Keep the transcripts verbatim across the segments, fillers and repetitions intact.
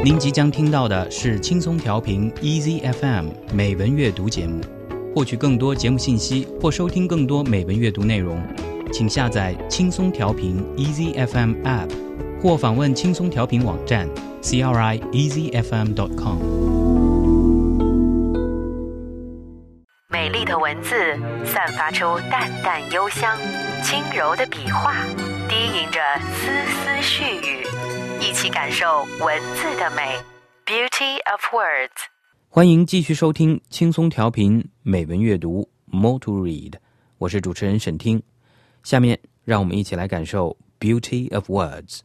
您即将听到的是轻松调频 Easy F M 美文阅读节目。获取更多节目信息或收听更多美文阅读内容，请下载轻松调频 Easy F M App 或访问轻松调频网站 c r i easy f m dot com。 美丽的文字散发出淡淡幽香，轻柔的笔画低吟着丝丝絮语，一起感受文字的美 Beauty of Words。 欢迎继续收听轻松调频美文阅读 More to Read， 我是主持人沈听。下面让我们一起来感受 Beauty of Words。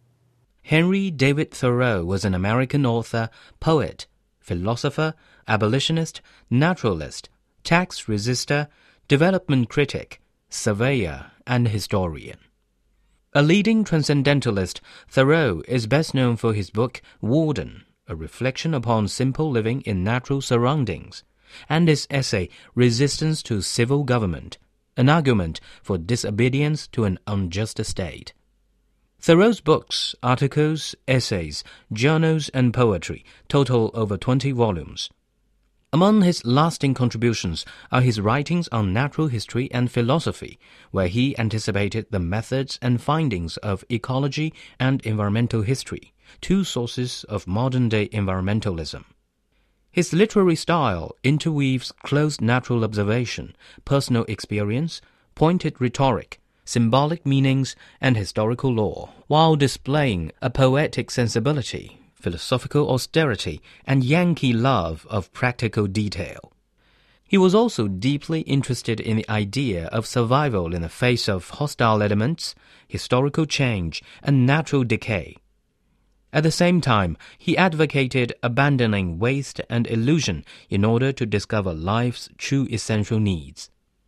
Henry David Thoreau was an American author, poet, philosopher, abolitionist, naturalist, tax resister, development critic, surveyor, and historian. A leading transcendentalist, Thoreau is best known for his book Warden, a reflection upon simple living in natural surroundings, and his essay Resistance to Civil Government, an argument for disobedience to an unjust state. Thoreau's books, articles, essays, journals, and poetry total over twenty volumes. Among his lasting contributions are his writings on natural history and philosophy, where he anticipated the methods and findings of ecology and environmental history, two sources of modern-day environmentalism. His literary style interweaves close natural observation, personal experience, pointed rhetoric, symbolic meanings, and historical lore, while displaying a poetic sensibility, philosophical austerity, and Yankee love of practical detail. He was also deeply interested in the idea of survival in the face of hostile elements, historical change, and natural decay. At the same time, he advocated abandoning waste and illusion in order to discover life's true essential needs.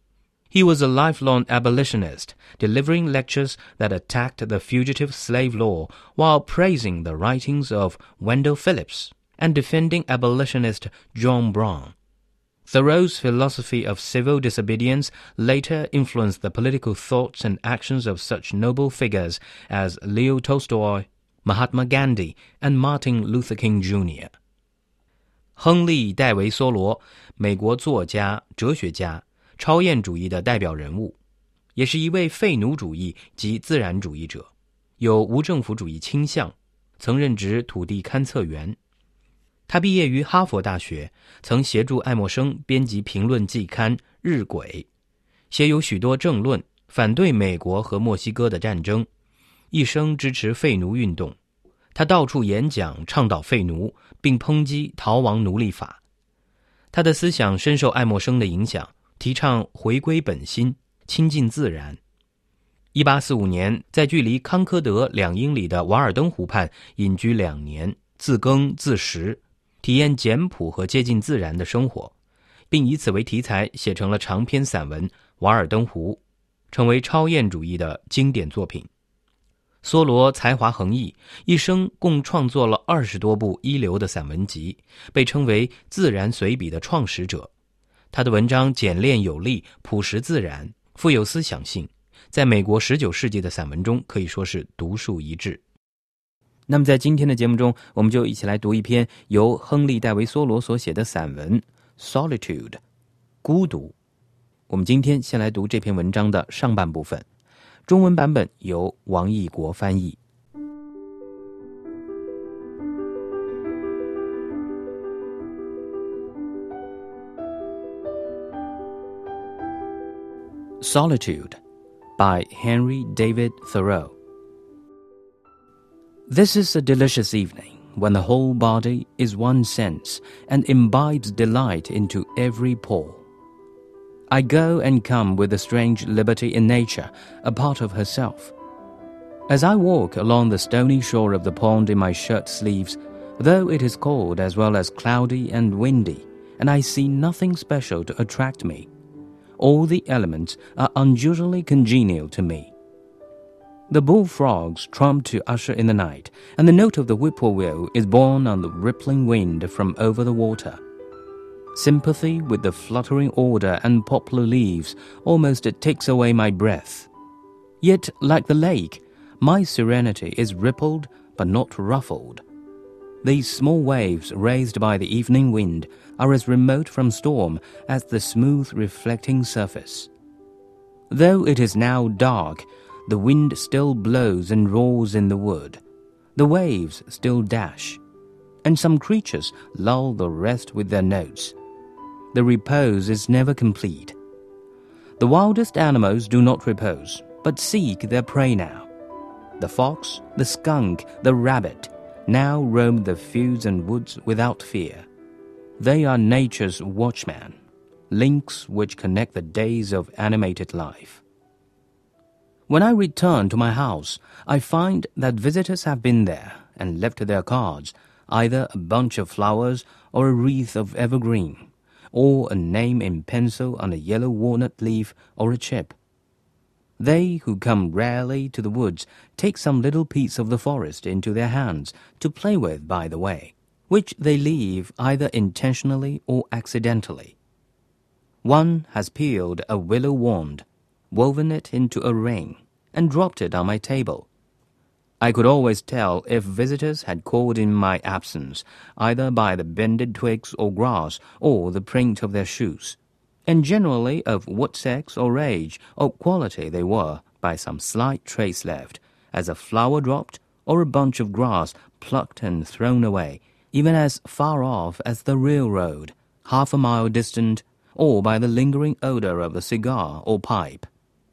He was a lifelong abolitionist, delivering lectures that attacked the fugitive slave law while praising the writings of Wendell Phillips and defending abolitionist John Brown. Thoreau's philosophy of civil disobedience later influenced the political thoughts and actions of such noble figures as Leo Tolstoy, Mahatma Gandhi, and Martin Luther King Junior 亨利·戴维·梭罗，美国作家、哲学家，超验主义的代表人物，也是一位废奴主义及自然主义者，有无政府主义倾向，曾任职土地勘测员。他毕业于哈佛大学，曾协助爱默生编辑评论季刊《日晷》，写有许多政论，反对美国和墨西哥的战争，一生支持废奴运动。他到处演讲，倡导废奴，并抨击逃亡奴隶法。他的思想深受爱默生的影响，提倡回归本心，亲近自然。一八四五年，在距离康科德两英里的瓦尔登湖畔隐居两年，自耕自食，体验简朴和接近自然的生活，并以此为题材写成了长篇散文《瓦尔登湖》，成为超验主义的经典作品。梭罗才华横溢，一生共创作了二十多部一流的散文集，被称为自然随笔的创始者。他的文章简练有力，朴实自然，富有思想性，在美国十九世纪的散文中可以说是独树一帜。那么在今天的节目中，我们就一起来读一篇由亨利·戴维·梭罗所写的散文 Solitude 孤独。我们今天先来读这篇文章的上半部分，中文版本由王义国翻译。Solitude by Henry David Thoreau. This is a delicious evening when the whole body is one sense and imbibes delight into every pore. I go and come with a strange liberty in nature, a part of herself. As I walk along the stony shore of the pond in my shirt sleeves, though it is cold as well as cloudy and windy, and I see nothing special to attract me, all the elements are unusually congenial to me. The bullfrogs trump to usher in the night, and the note of the whippoorwill is borne on the rippling wind from over the water. Sympathy with the fluttering order and poplar leaves almost takes away my breath. Yet, like the lake, my serenity is rippled but not ruffled. These small waves raised by the evening wind are as remote from storm as the smooth reflecting surface. Though it is now dark, the wind still blows and roars in the wood. The waves still dash, and some creatures lull the rest with their notes. The repose is never complete. The wildest animals do not repose, but seek their prey now. The fox, the skunk, the rabbit now roam the fields and woods without fear. They are nature's watchmen, links which connect the days of animated life. When I return to my house, I find that visitors have been there and left their cards, either a bunch of flowers or a wreath of evergreen, or a name in pencil on a yellow walnut leaf or a chip. They who come rarely to the woods take some little piece of the forest into their hands to play with by the way, which they leave either intentionally or accidentally. One has peeled a willow wand, woven it into a ring, and dropped it on my table. I could always tell if visitors had called in my absence, either by the bended twigs or grass or the print of their shoes, and generally of what sex or age or quality they were by some slight trace left, as a flower dropped or a bunch of grass plucked and thrown away, even as far off as the railroad, half a mile distant, or by the lingering odor of a cigar or pipe.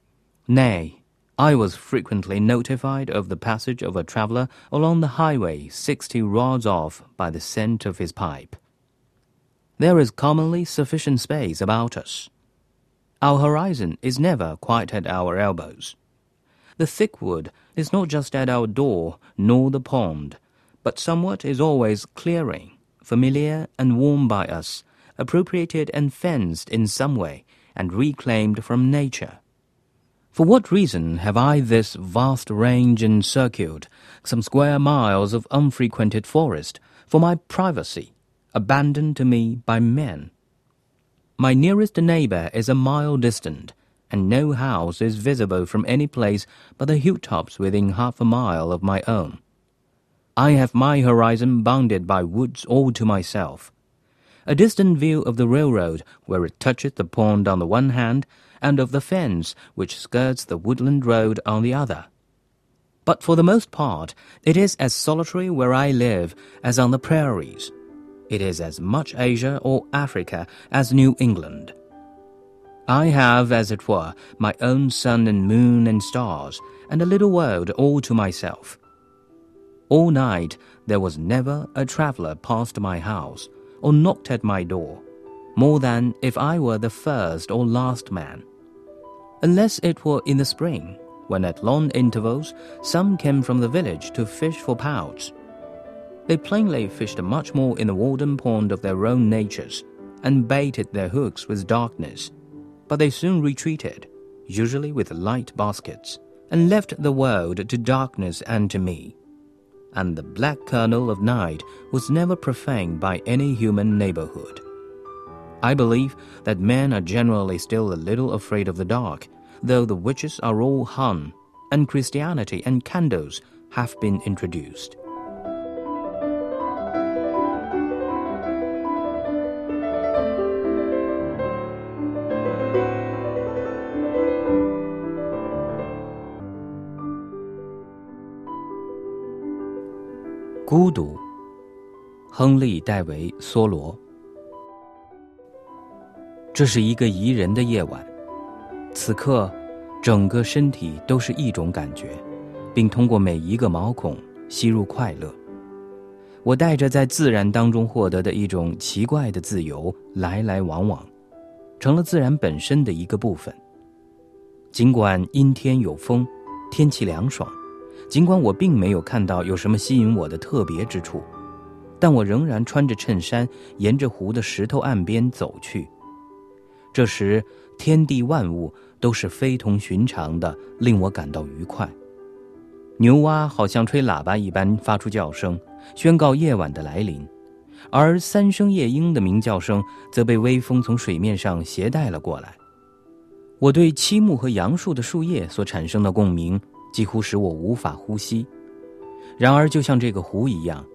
Nay, I was frequently notified of the passage of a traveler along the highway sixty rods off by the scent of his pipe. There is commonly sufficient space about us. Our horizon is never quite at our elbows. The thick wood is not just at our door, nor the pond, but somewhat is always clearing, familiar and warm by us, appropriated and fenced in some way, and reclaimed from nature. For what reason have I this vast range encircled, some square miles of unfrequented forest, for my privacy, abandoned to me by men? My nearest neighbor is a mile distant, and no house is visible from any place but the hilltops within half a mile of my own. I have my horizon bounded by woods all to myself. A distant view of the railroad where it touches the pond on the one hand, and of the fence which skirts the woodland road on the other. But for the most part, it is as solitary where I live as on the prairies. It is as much Asia or Africa as New England. I have, as it were, my own sun and moon and stars, and a little world all to myself. All night there was never a traveler passed my house, or knocked at my door, more than if I were the first or last man. Unless it were in the spring, when at long intervals some came from the village to fish for pouts. They plainly fished much more in the Walden Pond of their own natures, and baited their hooks with darkness, but they soon retreated, usually with light baskets, and left the world to darkness and to me. And the black kernel of night was never profaned by any human neighborhood. I believe that men are generally still a little afraid of the dark, though the witches are all hung, and Christianity and candles have been introduced.孤独，亨利·戴维·梭罗。这是一个宜人的夜晚，此刻整个身体都是一种感觉，并通过每一个毛孔吸入快乐。我带着在自然当中获得的一种奇怪的自由来来往往，成了自然本身的一个部分。尽管阴天有风，天气凉爽，尽管我并没有看到有什么吸引我的特别之处，但我仍然穿着衬衫沿着湖的石头岸边走去。这时天地万物都是非同寻常的，令我感到愉快。牛蛙好像吹喇叭一般发出叫声，宣告夜晚的来临，而三声夜莺的鸣叫声则被微风从水面上携带了过来。我对漆木和杨树的树叶所产生的共鸣几乎使我无法呼吸。然而就像这个湖一样，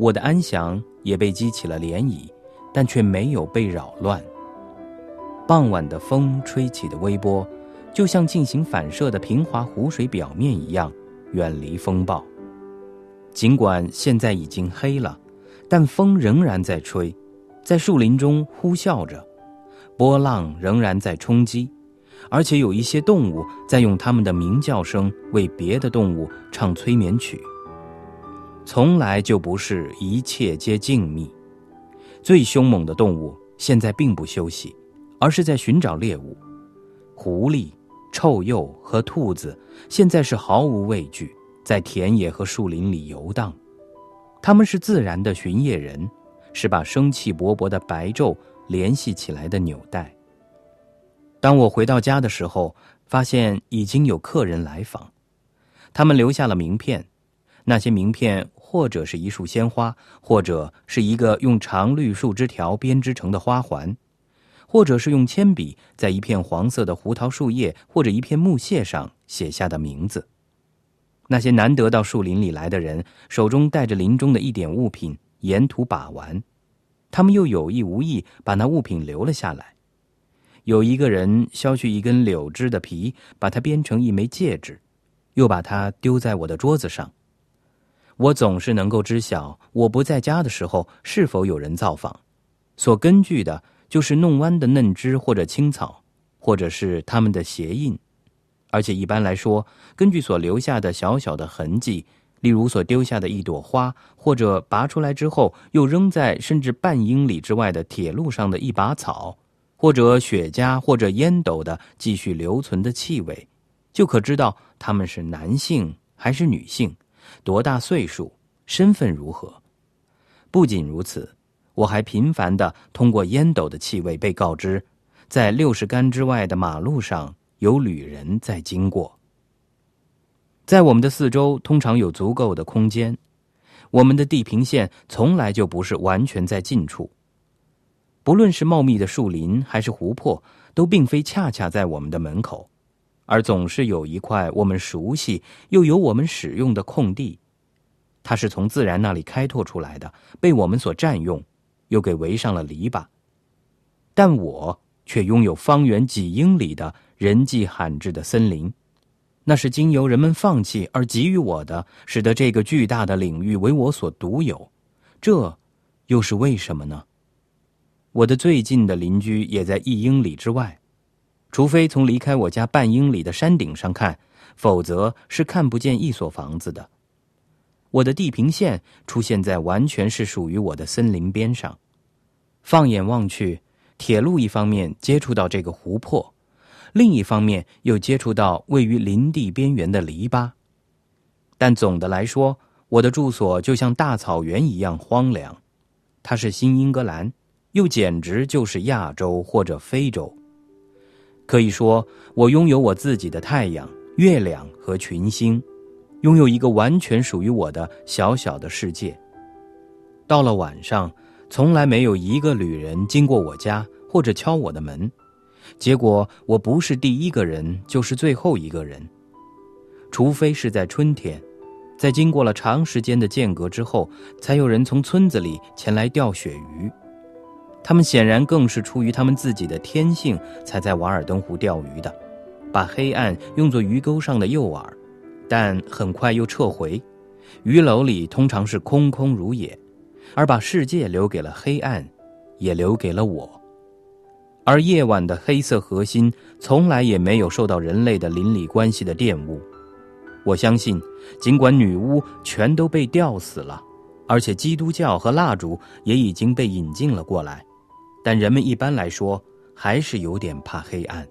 我的安详也被激起了涟漪，但却没有被扰乱。傍晚的风吹起的微波，就像进行反射的平滑湖水表面一样，远离风暴。尽管现在已经黑了，但风仍然在吹，在树林中呼啸着，波浪仍然在冲击，而且有一些动物在用它们的鸣叫声为别的动物唱催眠曲。从来就不是一切皆静谧，最凶猛的动物现在并不休息，而是在寻找猎物。狐狸、臭鼬和兔子现在是毫无畏惧，在田野和树林里游荡。他们是自然的巡夜人，是把生气勃勃的白昼联系起来的纽带。当我回到家的时候，发现已经有客人来访，他们留下了名片。那些名片或者是一束鲜花，或者是一个用长绿树枝条编织成的花环，或者是用铅笔在一片黄色的胡桃树叶或者一片木屑上写下的名字。那些难得到树林里来的人，手中带着林中的一点物品，沿途把玩，他们又有意无意把那物品留了下来。有一个人削去一根柳枝的皮，把它编成一枚戒指，又把它丢在我的桌子上。我总是能够知晓我不在家的时候是否有人造访，所根据的就是弄弯的嫩枝或者青草，或者是它们的鞋印。而且一般来说，根据所留下的小小的痕迹，例如所丢下的一朵花，或者拔出来之后又扔在甚至半英里之外的铁路上的一把草，或者雪茄或者烟斗的继续留存的气味，就可知道他们是男性还是女性，多大岁数，身份如何。不仅如此，我还频繁地通过烟斗的气味被告知，在六十杆之外的马路上有旅人在经过。在我们的四周通常有足够的空间，我们的地平线从来就不是完全在近处。不论是茂密的树林还是湖泊，都并非恰恰在我们的门口，而总是有一块我们熟悉又由我们使用的空地。它是从自然那里开拓出来的，被我们所占用，又给围上了篱笆。但我却拥有方圆几英里的人迹罕至的森林，那是经由人们放弃而给予我的，使得这个巨大的领域为我所独有。这又是为什么呢？我的最近的邻居也在一英里之外，除非从离开我家半英里的山顶上看，否则是看不见一所房子的。我的地平线出现在完全是属于我的森林边上。放眼望去，铁路一方面接触到这个湖泊，另一方面又接触到位于林地边缘的篱笆。但总的来说，我的住所就像大草原一样荒凉。它是新英格兰，又简直就是亚洲或者非洲。可以说，我拥有我自己的太阳、月亮和群星，拥有一个完全属于我的小小的世界。到了晚上，从来没有一个旅人经过我家或者敲我的门，结果我不是第一个人，就是最后一个人。除非是在春天，在经过了长时间的间隔之后，才有人从村子里前来钓鳕鱼。他们显然更是出于他们自己的天性才在瓦尔登湖钓鱼的，把黑暗用作鱼钩上的诱饵，但很快又撤回。鱼篓里通常是空空如也，而把世界留给了黑暗，也留给了我。而夜晚的黑色核心从来也没有受到人类的邻里关系的玷污。我相信，尽管女巫全都被吊死了，而且基督教和蜡烛也已经被引进了过来，但人们一般来说还是有点怕黑暗。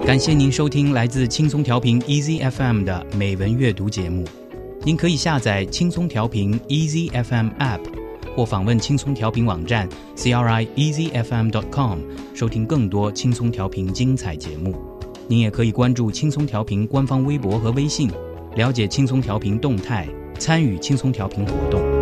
感谢您收听来自轻松调频 Easy F M 的美文阅读节目。您可以下载轻松调频 Easy F M App， 或访问轻松调频网站 c r i easy f m dot com 收听更多轻松调频精彩节目。您也可以关注轻松调频官方微博和微信，了解轻松调频动态，参与轻松调频活动。